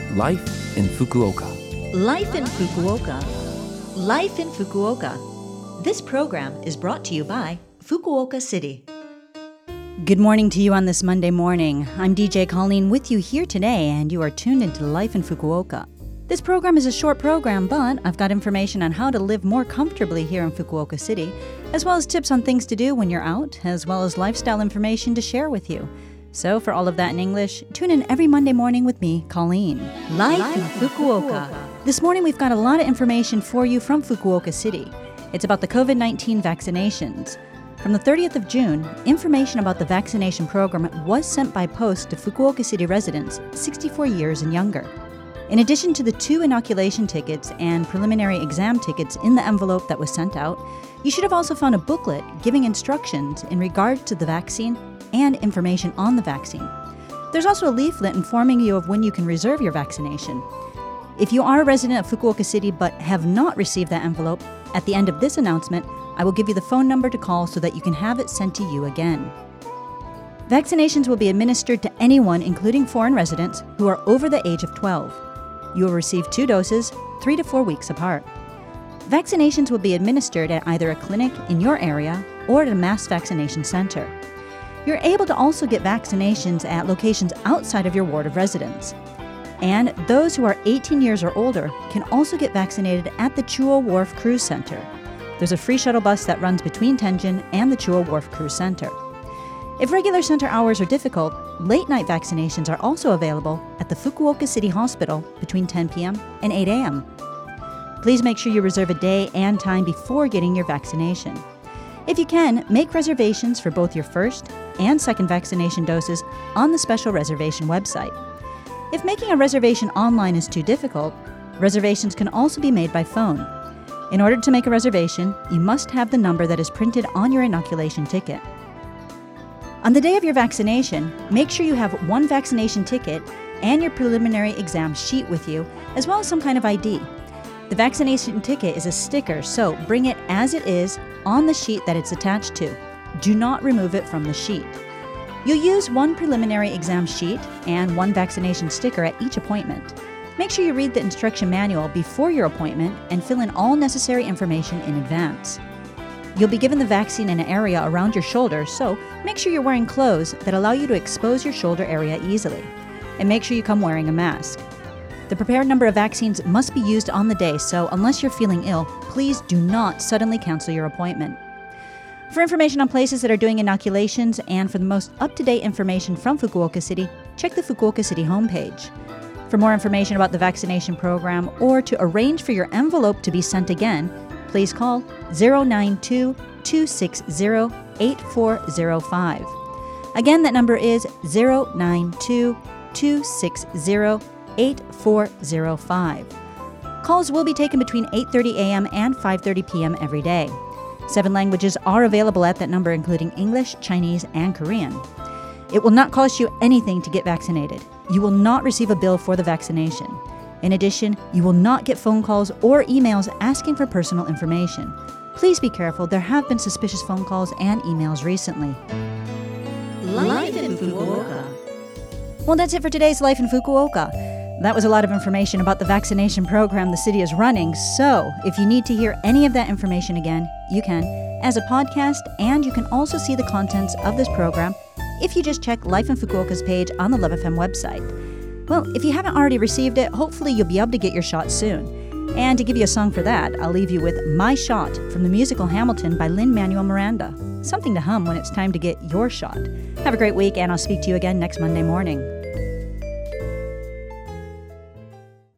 Life in Fukuoka. Life in Fukuoka. Life in Fukuoka. This program is brought to you by Fukuoka City. Good morning to you on this Monday morning. I'm DJ Colleen with you here today, and you are tuned into Life in Fukuoka. This program is a short program, but I've got information on how to live more comfortably here in Fukuoka City, as well as tips on things to do when you're out, as well as lifestyle information to share with you. So for all of that in English, tune in every Monday morning with me, Colleen. Life in Fukuoka. This morning we've got a lot of information for you from Fukuoka City. It's about the COVID-19 vaccinations. From the 30th of June, information about the vaccination program was sent by post to Fukuoka City residents 64 years and younger. In addition to the 2 inoculation tickets and preliminary exam tickets in the envelope that was sent out, you should have also found a booklet giving instructions in regard to the vaccine and information on the vaccine. There's also a leaflet informing you of when you can reserve your vaccination. If you are a resident of Fukuoka City but have not received that envelope, at the end of this announcement, I will give you the phone number to call so that you can have it sent to you again. Vaccinations will be administered to anyone, including foreign residents, who are over the age of 12. You will receive 2 doses, 3 to 4 weeks apart. Vaccinations will be administered at either a clinic in your area or at a mass vaccination center. You're able to also get vaccinations at locations outside of your ward of residence. And those who are 18 years or older can also get vaccinated at the Chuo Wharf Cruise Center. There's a free shuttle bus that runs between Tenjin and the Chuo Wharf Cruise Center. If regular center hours are difficult, late-night vaccinations are also available at the Fukuoka City Hospital between 10 p.m. and 8 a.m. Please make sure you reserve a day and time before getting your vaccination. If you can, make reservations for both your first and second vaccination doses on the special reservation website. If making a reservation online is too difficult, reservations can also be made by phone. In order to make a reservation, you must have the number that is printed on your inoculation ticket. On the day of your vaccination, make sure you have 1 vaccination ticket and your preliminary exam sheet with you, as well as some kind of ID. The vaccination ticket is a sticker, so bring it as it is on the sheet that it's attached to. Do not remove it from the sheet. You'll use 1 preliminary exam sheet and 1 vaccination sticker at each appointment. Make sure you read the instruction manual before your appointment and fill in all necessary information in advance. You'll be given the vaccine in an area around your shoulder, so make sure you're wearing clothes that allow you to expose your shoulder area easily. And make sure you come wearing a mask. The prepared number of vaccines must be used on the day, so unless you're feeling ill, please do not suddenly cancel your appointment. For information on places that are doing inoculations and for the most up-to-date information from Fukuoka City, check the Fukuoka City homepage. For more information about the vaccination program or to arrange for your envelope to be sent again, please call 092-260-8405. Again, that number is 092-260-8405. Calls will be taken between 8:30 a.m. and 5:30 p.m. every day. 7 languages are available at that number, including English, Chinese, and Korean. It will not cost you anything to get vaccinated. You will not receive a bill for the vaccination. In addition, you will not get phone calls or emails asking for personal information. Please be careful. There have been suspicious phone calls and emails recently. Life in Fukuoka. Well, that's it for today's Life in Fukuoka. That was a lot of information about the vaccination program the city is running, so if you need to hear any of that information again, you can, as a podcast, and you can also see the contents of this program if you just check Life in Fukuoka's page on the Love FM website. Well, if you haven't already received it, hopefully you'll be able to get your shot soon. And to give you a song for that, I'll leave you with My Shot from the musical Hamilton by Lin-Manuel Miranda. Something to hum when it's time to get your shot. Have a great week, and I'll speak to you again next Monday morning.